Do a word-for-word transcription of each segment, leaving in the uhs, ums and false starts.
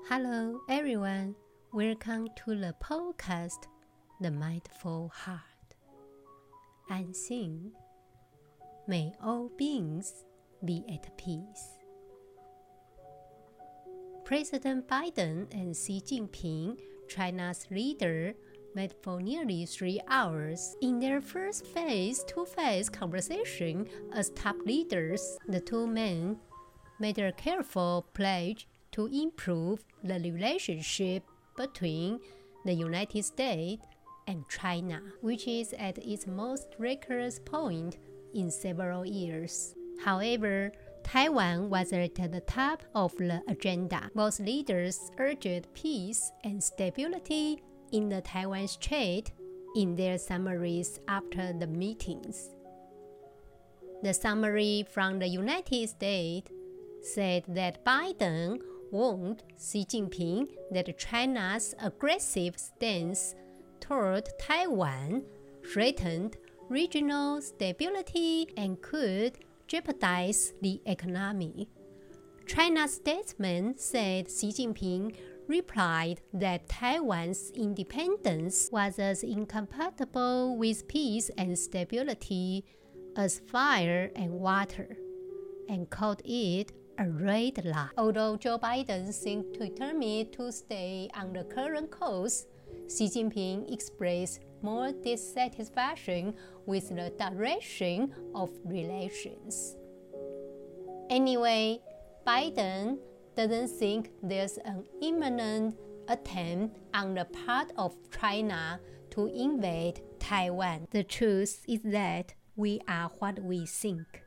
Hello everyone, welcome to the podcast, The Mindful Heart. I'm Xing. May all beings be at peace. President Biden and Xi Jinping, China's leader, met for nearly three hours in their first face-to-face conversation as top leaders. The two men made a careful pledge to improve the relationship between the United States and China, which is at its most reckless point in several years. However, Taiwan was at the top of the agenda. Both leaders urged peace and stability in the Taiwan Strait in their summaries after the meetings. The summary from the United States said that Biden warned Xi Jinping that China's aggressive stance toward Taiwan threatened regional stability and could jeopardize the economy. China's statesman said Xi Jinping replied that Taiwan's independence was as incompatible with peace and stability as fire and water, and called it a red line. Although Joe Biden seemed determined to stay on the current course, Xi Jinping expressed more dissatisfaction with the direction of relations. Anyway, Biden doesn't think there's an imminent attempt on the part of China to invade Taiwan. The truth is that we are what we think.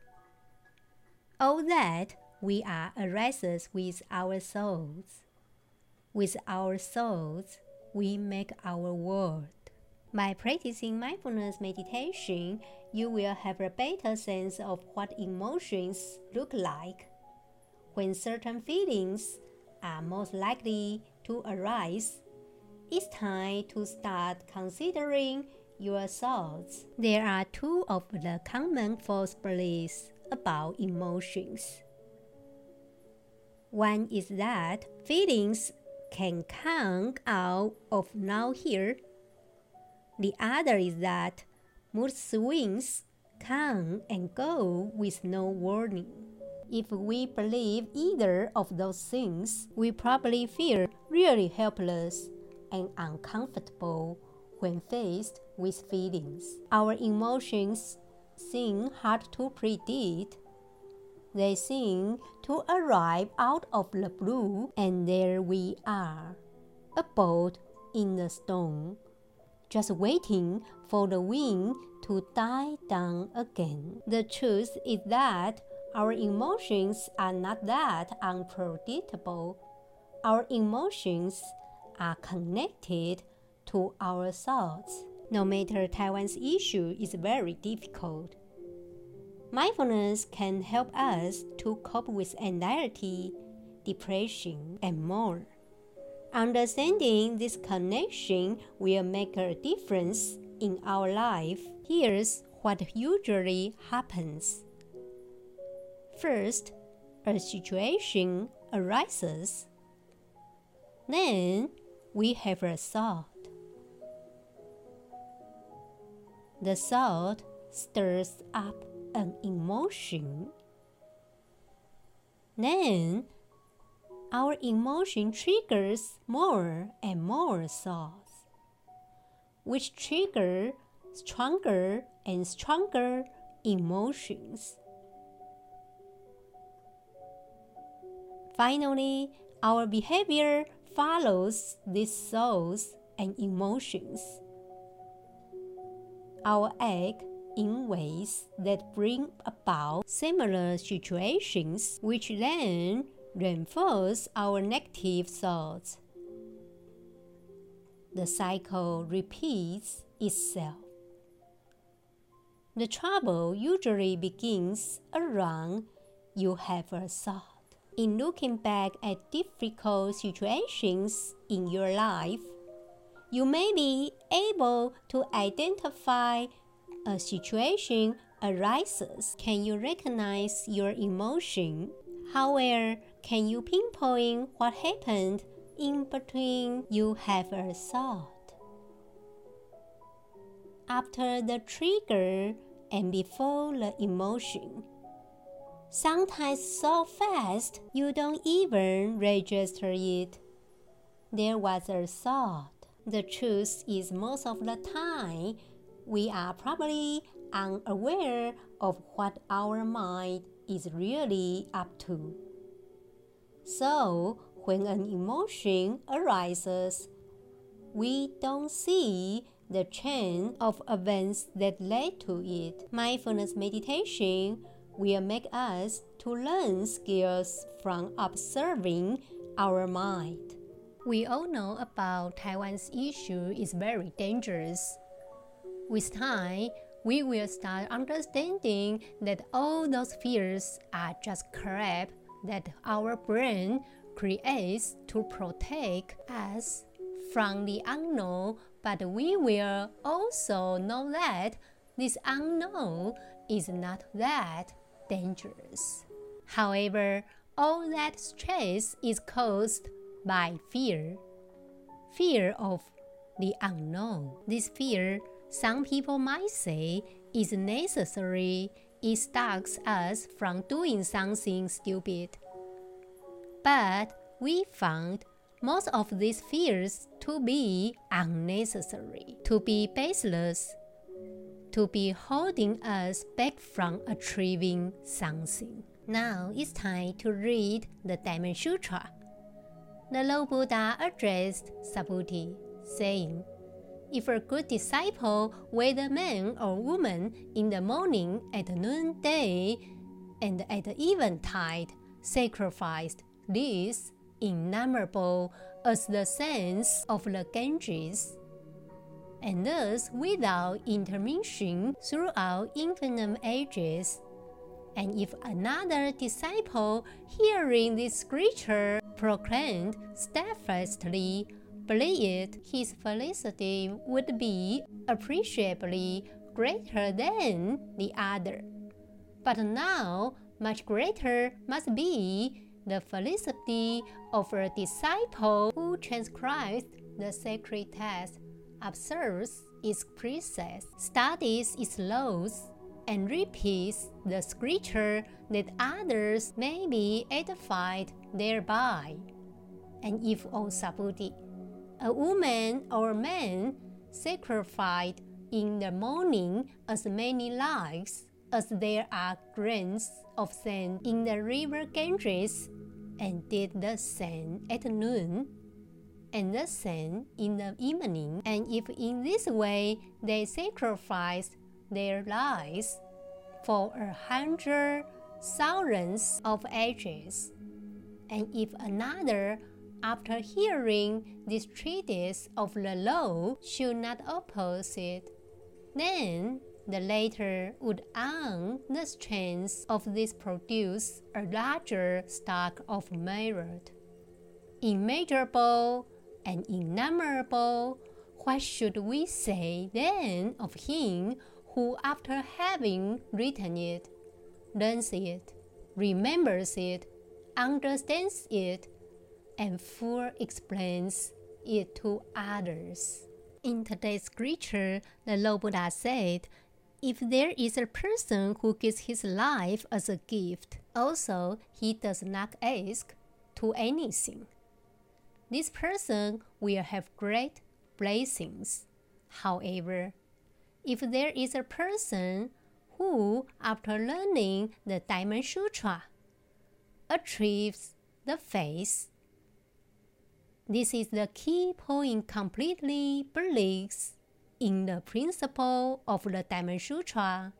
All that we are arises with our souls. With our souls, we make our world. By practicing mindfulness meditation, you will have a better sense of what emotions look like. When certain feelings are most likely to arise, it's time to start considering your thoughts. There are two of the common false beliefs about emotions. One is that feelings can come out of nowhere. The other is that mood swings come and go with no warning. If we believe either of those things, we probably feel really helpless and uncomfortable when faced with feelings. Our emotions seem hard to predict. They seem to arrive out of the blue, and there we are, a boat in the storm, just waiting for the wind to die down again. The truth is that our emotions are not that unpredictable. Our emotions are connected to our thoughts. No matter Taiwan's issue is very difficult, mindfulness can help us to cope with anxiety, depression, and more. Understanding this connection will make a difference in our life. Here's what usually happens. First, a situation arises. Then, we have a thought. The thought stirs up an emotion. Then, our emotion triggers more and more thoughts, which trigger stronger and stronger emotions. Finally, our behavior follows these thoughts and emotions. Our act in ways that bring about similar situations, which then reinforce our negative thoughts. The cycle repeats itself. The trouble usually begins around you have a thought. In looking back at difficult situations in your life, you may be able to identify a situation arises. Can you recognize your emotion? However, can you pinpoint what happened in between you have a thought. After the trigger and before the emotion, sometimes so fast you don't even register it. There was a thought. The truth is, most of the time, we are probably unaware of what our mind is really up to. So, when an emotion arises, we don't see the chain of events that led to it. Mindfulness meditation will make us to learn skills from observing our mind. We all know about Taiwan's issue is very dangerous. With time, we will start understanding that all those fears are just crap that our brain creates to protect us from the unknown, but we will also know that this unknown is not that dangerous. However, all that stress is caused by fear. Fear of the unknown. This fear, some people might say, is necessary. It stops us from doing something stupid. But we found most of these fears to be unnecessary, to be baseless, to be holding us back from achieving something. Now it's time to read the Diamond Sutra. The Lord Buddha addressed Subhuti, saying, "If a good disciple, whether man or woman, in the morning, at noonday, and at eventide, sacrificed these innumerable as the sands of the Ganges, and thus without intermission throughout infinite ages, and if another disciple, hearing this scripture, proclaimed steadfastly, believed his felicity would be appreciably greater than the other. But now much greater must be the felicity of a disciple who transcribes the sacred text, observes its precepts, studies its laws, and repeats the scripture that others may be edified thereby. And if, O Subhuti, a woman or man sacrificed in the morning as many lives as there are grains of sand in the river Ganges, and did the same at noon, and the same in the evening, and if in this way they sacrificed their lives for a hundred thousands of ages, and if another, after hearing this treatise of the law, should not oppose it, then the latter would on the strength of this produce a larger stock of merit. Immeasurable and innumerable, what should we say then of him who, after having written it, learns it, remembers it, understands it, and fully explains it to others? In today's scripture, the Lord Buddha said, if there is a person who gives his life as a gift, also he does not ask to anything, this person will have great blessings. However, if there is a person who, after learning the Diamond Sutra, achieves the faith, this is the key point, completely believes in the principle of the Diamond Sutra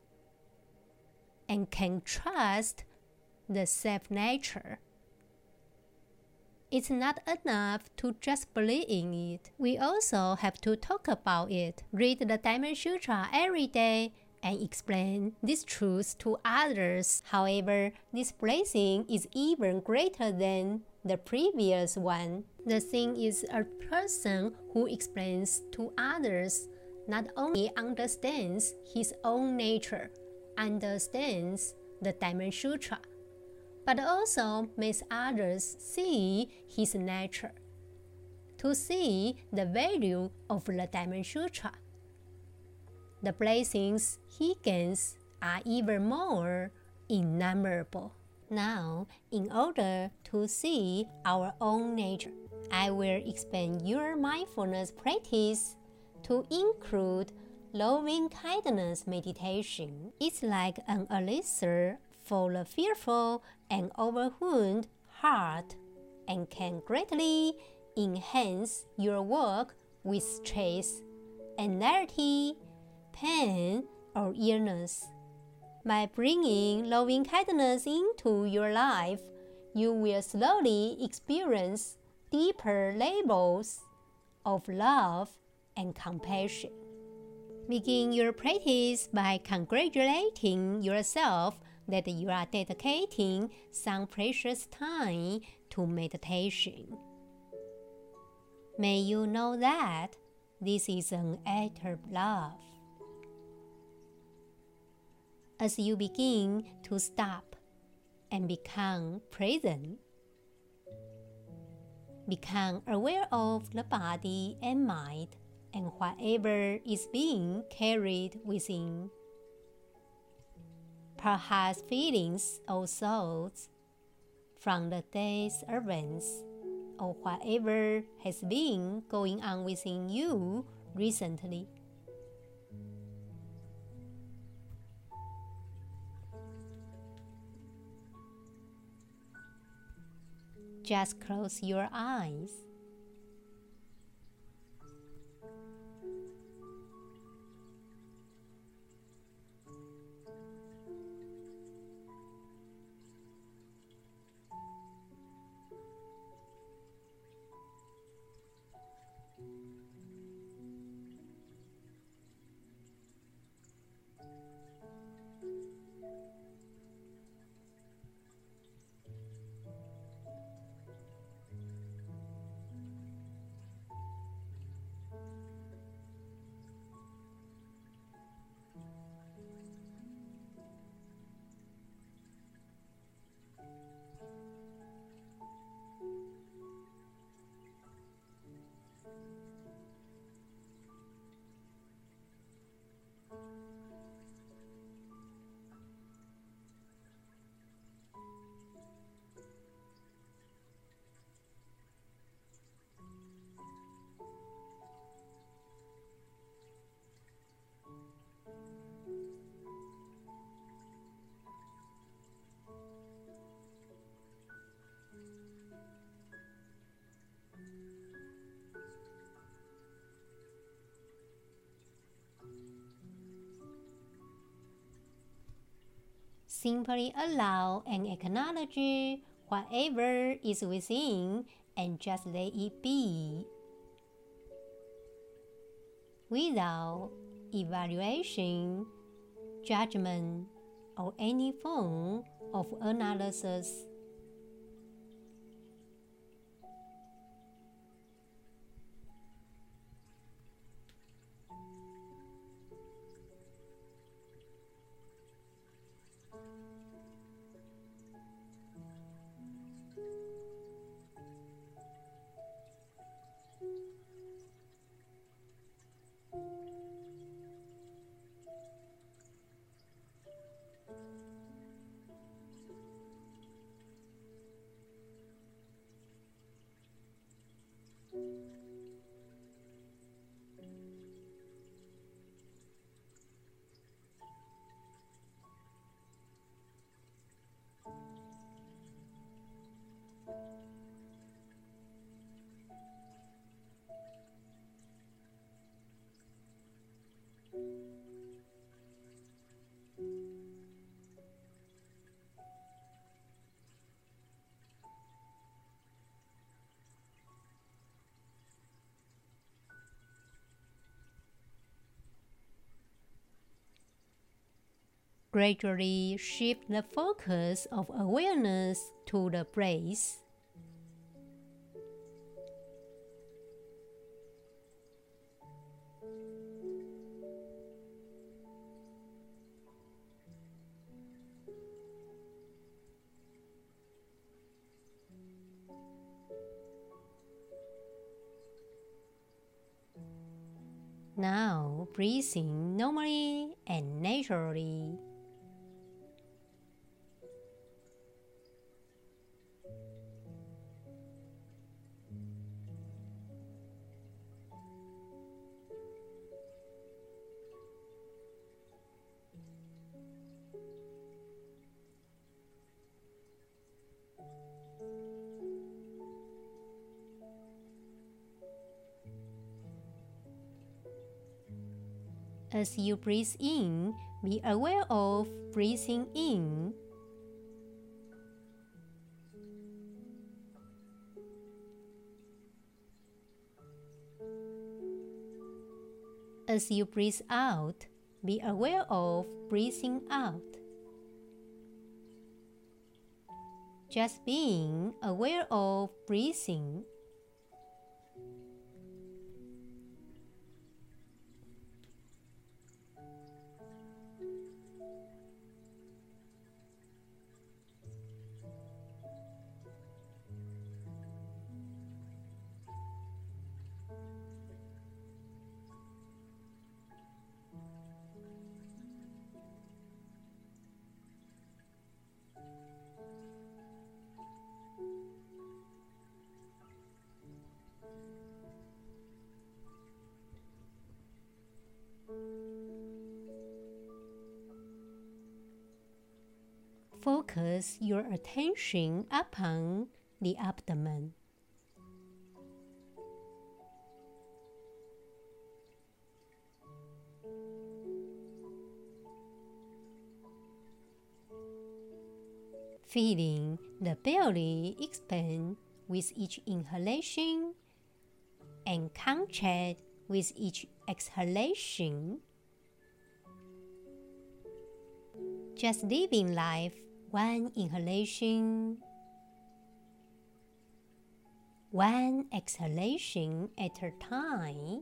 and can trust the self-nature. It's not enough to just believe in it. We also have to talk about it, read the Diamond Sutra every day, and explain this truth to others. However, this blessing is even greater than the previous one. The thing is, a person who explains to others not only understands his own nature, understands the Diamond Sutra, but also makes others see his nature. to see the value of the Diamond Sutra. The blessings he gains are even more innumerable. Now, in order to see our own nature, I will expand your mindfulness practice to include loving kindness meditation. It's like an elixir for the fearful and overwhelmed heart and can greatly enhance your work with stress, anxiety, pain, or illness. By bringing loving kindness into your life, you will slowly experience deeper levels of love and compassion. Begin your practice by congratulating yourself that you are dedicating some precious time to meditation. May you know that this is an act of love. As you begin to stop and become present, become aware of the body and mind and whatever is being carried within. Perhaps feelings or thoughts from the day's events or whatever has been going on within you recently. Just close your eyes. Simply allow and acknowledge whatever is within and just let it be, without evaluation, judgment, or any form of analysis. Gradually shift the focus of awareness to the breath. Now, breathing normally and naturally. As you breathe in, be aware of breathing in. As you breathe out, be aware of breathing out. Just being aware of breathing. Focus your attention upon the abdomen. Feeling the belly expand with each inhalation and contract with each exhalation. Just living life one inhalation, one exhalation at a time.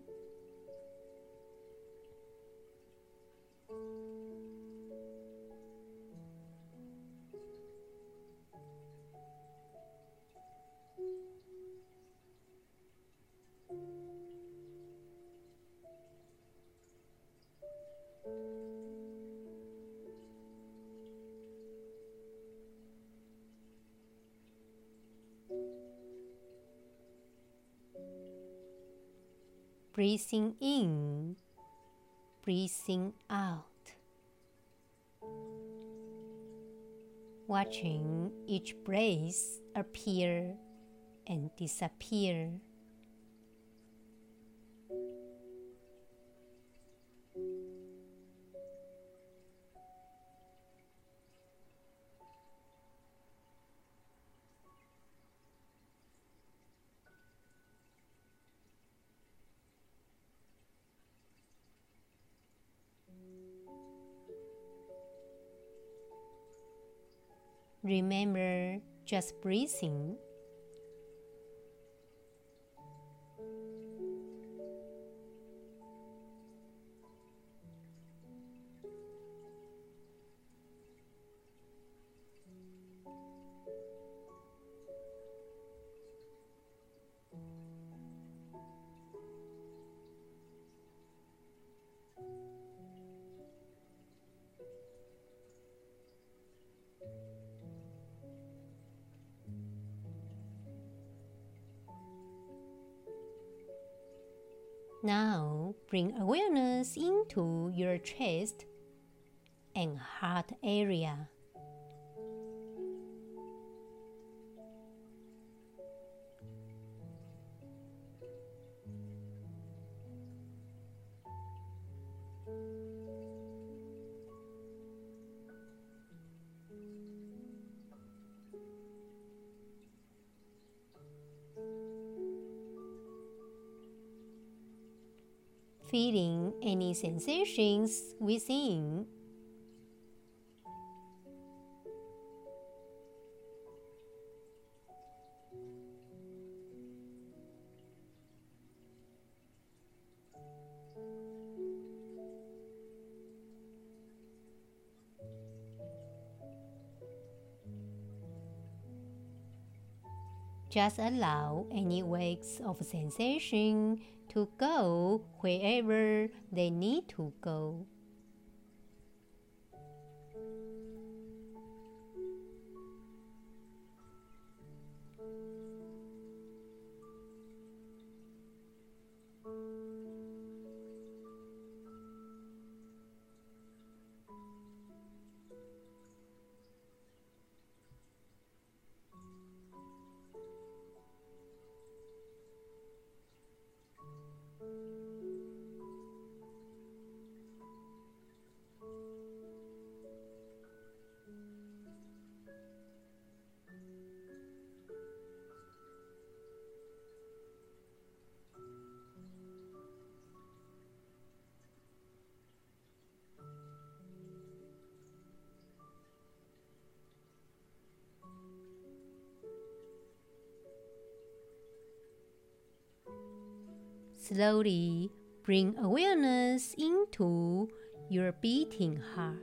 Breathing in, breathing out. Watching each breath appear and disappear. Remember just breathing. Now, bring awareness into your chest and heart area. Feeling any sensations within. Just allow any waves of sensation to to go wherever they need to go. Slowly bring awareness into your beating heart.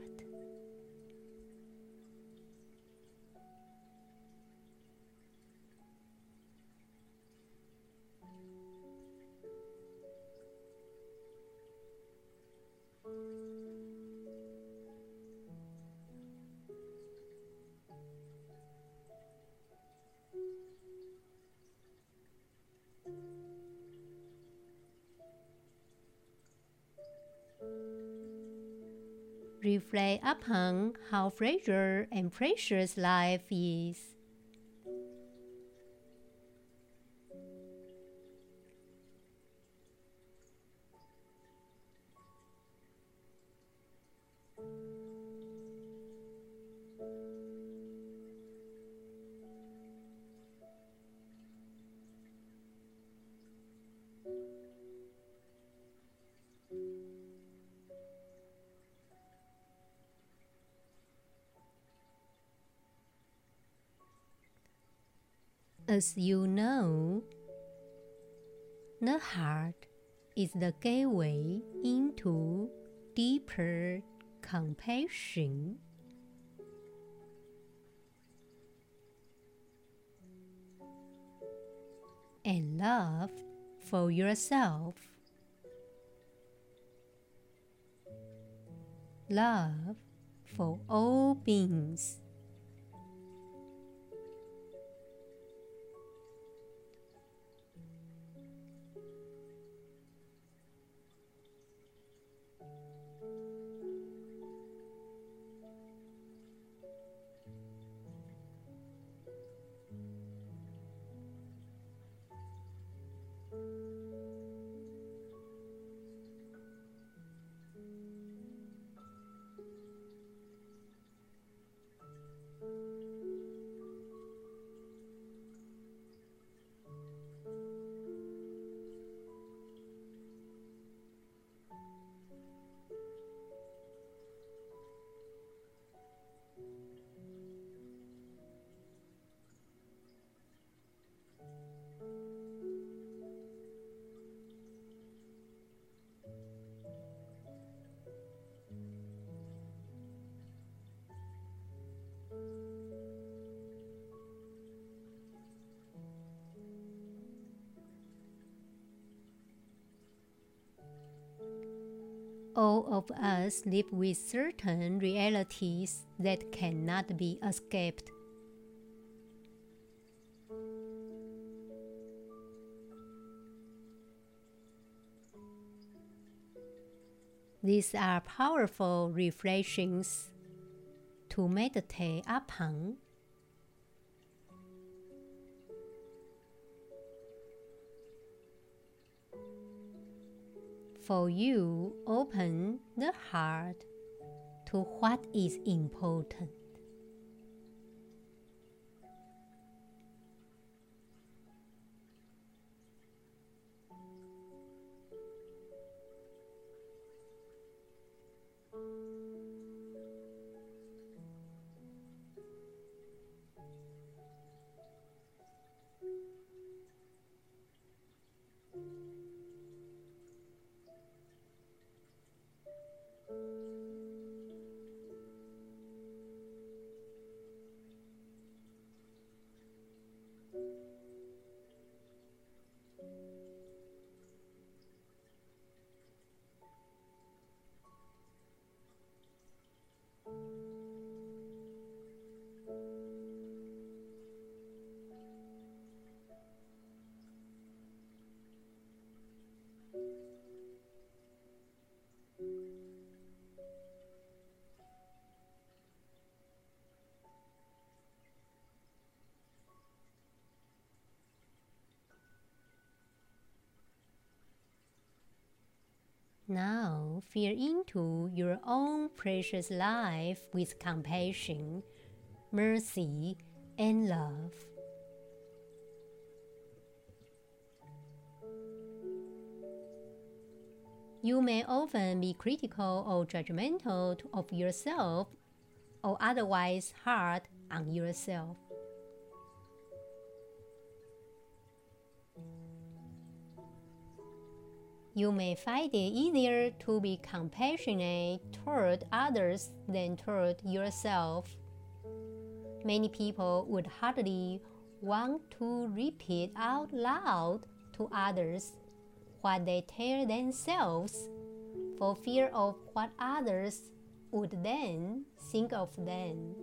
Reflect upon how fragile and precious life is. As you know, the heart is the gateway into deeper compassion and love for yourself, love for all beings. All of us live with certain realities that cannot be escaped. These are powerful reflections to meditate upon. For you, open the heart to what is important. Now, feel into your own precious life with compassion, mercy, and love. You may often be critical or judgmental of yourself or otherwise hard on yourself. You may find it easier to be compassionate toward others than toward yourself. Many people would hardly want to repeat out loud to others what they tell themselves, for fear of what others would then think of them.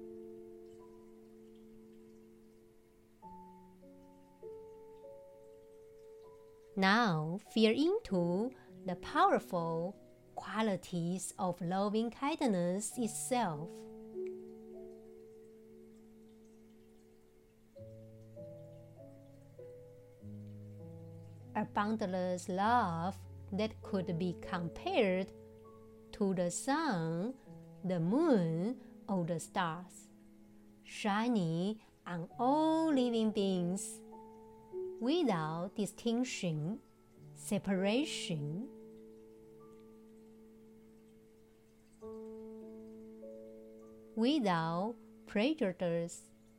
Now, feel into the powerful qualities of loving kindness itself. A boundless love that could be compared to the sun, the moon, or the stars, shining on all living beings without distinction, separation. Without prejudice.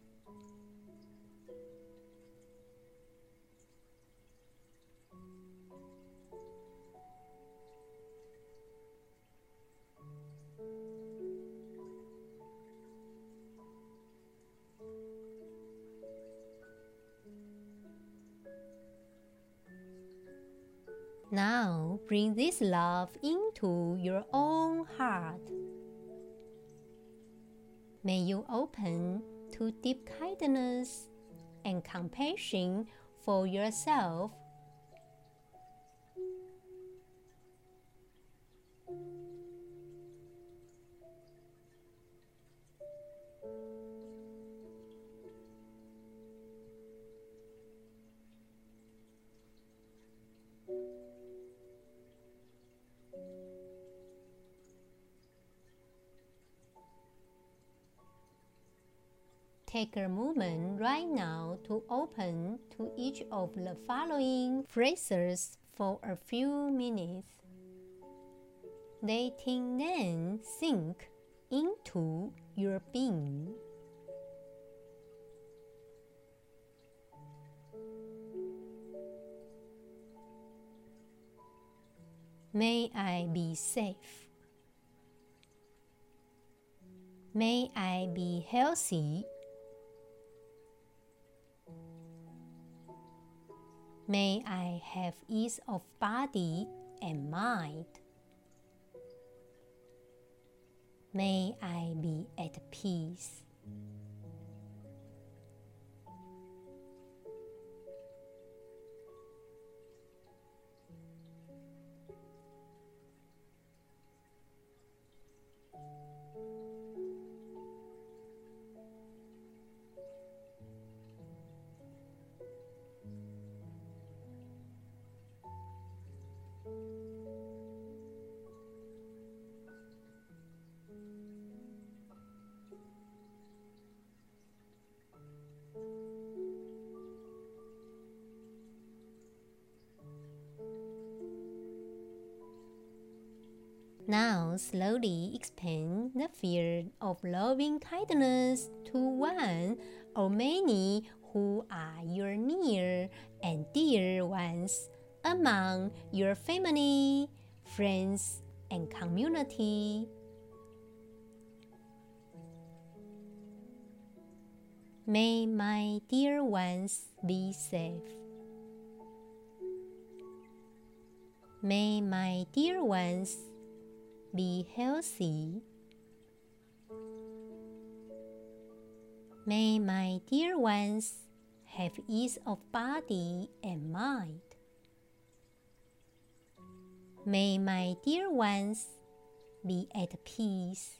Now, bring this love into your own heart. May you open to deep kindness and compassion for yourself. Take a moment right now to open to each of the following phrases for a few minutes. Letting them sink into your being. May I be safe. May I be healthy. May I have ease of body and mind. May I be at peace. Now slowly expand the field of loving kindness to one or many who are your near and dear ones among your family, friends, and community. May my dear ones be safe. May my dear ones be healthy. May my dear ones have ease of body and mind. May my dear ones be at peace.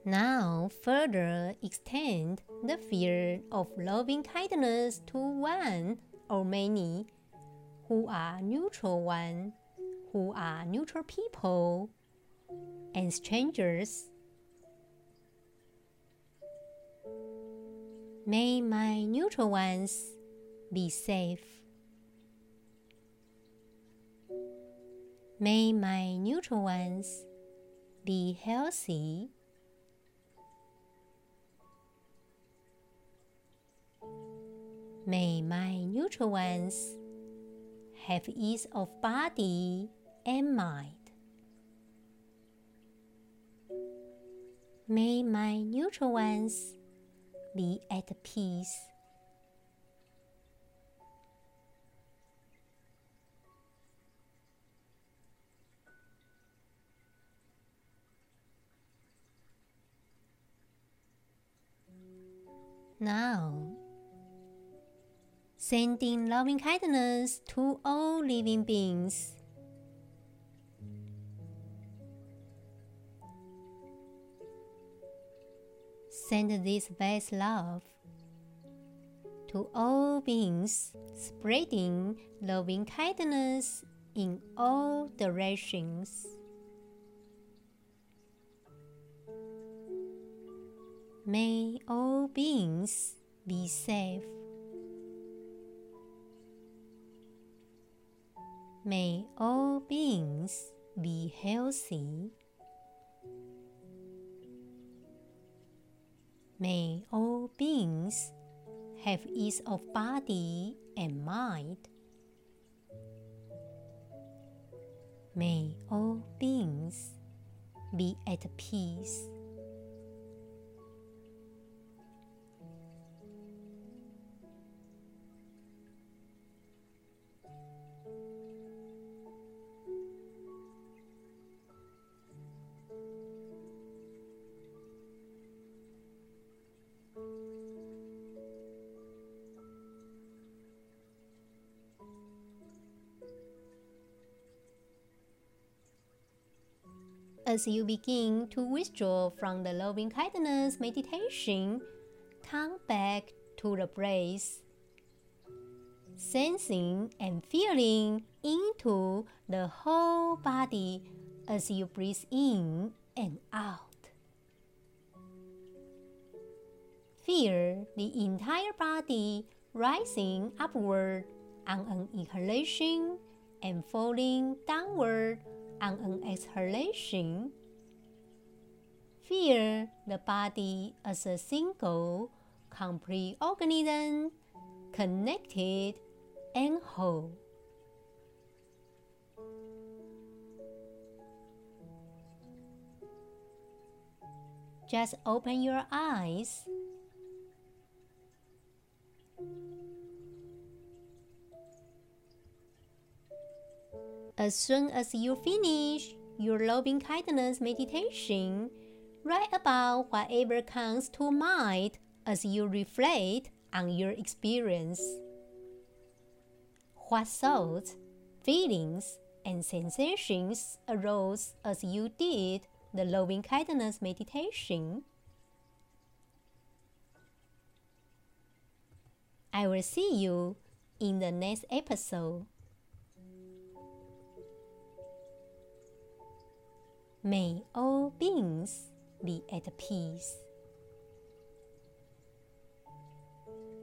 Now further extend the fear of loving kindness to one or many who are neutral one, who are neutral people and strangers. May my neutral ones be safe. May my neutral ones be healthy. May my neutral ones have ease of body and mind. May my neutral ones be at peace. Now, sending loving kindness to all living beings. Send this vast love to all beings, spreading loving kindness in all directions. May all beings be safe. May all beings be healthy. May all beings have ease of body and mind. May all beings be at peace. As you begin to withdraw from the loving kindness meditation, come back to the breath, sensing and feeling into the whole body as you breathe in and out. Feel the entire body rising upward on an inhalation and falling downward on an exhalation. Feel the body as a single, complete organism, connected and whole. Just open your eyes. As soon as you finish your loving kindness meditation, write about whatever comes to mind as you reflect on your experience. What thoughts, feelings, and sensations arose as you did the loving kindness meditation? I will see you in the next episode. May all beings be at peace.